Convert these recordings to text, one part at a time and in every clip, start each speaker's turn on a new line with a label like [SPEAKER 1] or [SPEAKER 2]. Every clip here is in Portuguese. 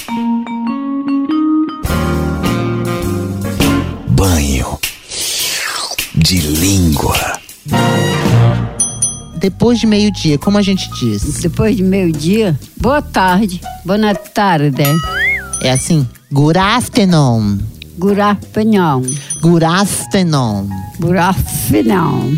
[SPEAKER 1] Banho de língua.
[SPEAKER 2] Depois de meio-dia, como a gente diz?
[SPEAKER 3] Depois de meio-dia, boa tarde, boa tarde.
[SPEAKER 2] É assim, good afternoon.
[SPEAKER 3] Good afternoon.
[SPEAKER 2] Good afternoon.
[SPEAKER 3] Good afternoon.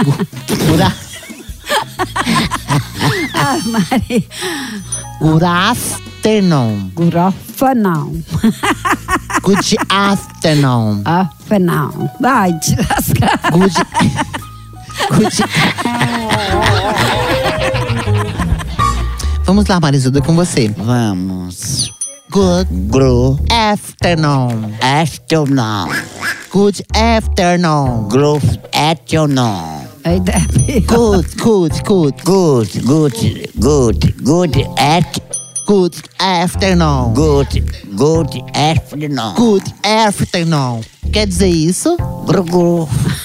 [SPEAKER 3] Ah, Maria.
[SPEAKER 2] Good afternoon.
[SPEAKER 3] Good afternoon.
[SPEAKER 2] Good afternoon.
[SPEAKER 3] Afternoon. Vai te lascar.
[SPEAKER 2] Good. Vamos lá, Marisilda, com você.
[SPEAKER 4] Vamos.
[SPEAKER 2] Good afternoon.
[SPEAKER 4] Afternoon.
[SPEAKER 2] Good afternoon.
[SPEAKER 4] Afternoon.
[SPEAKER 3] Aí deve.
[SPEAKER 2] Good afternoon.
[SPEAKER 4] Good afternoon.
[SPEAKER 2] Good afternoon. Quer dizer isso?
[SPEAKER 4] Gru.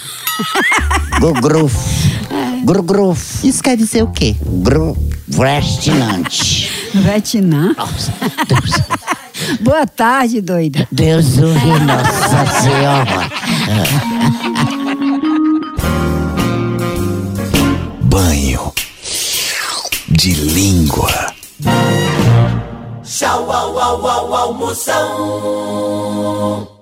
[SPEAKER 4] Gru.
[SPEAKER 2] Isso quer dizer o quê?
[SPEAKER 4] Restaurante.
[SPEAKER 3] Vietnã. Boa tarde, doida.
[SPEAKER 4] Deus ouve Nossa Senhora.
[SPEAKER 1] Banho de língua.
[SPEAKER 5] Tchau, au, au, au, almoção.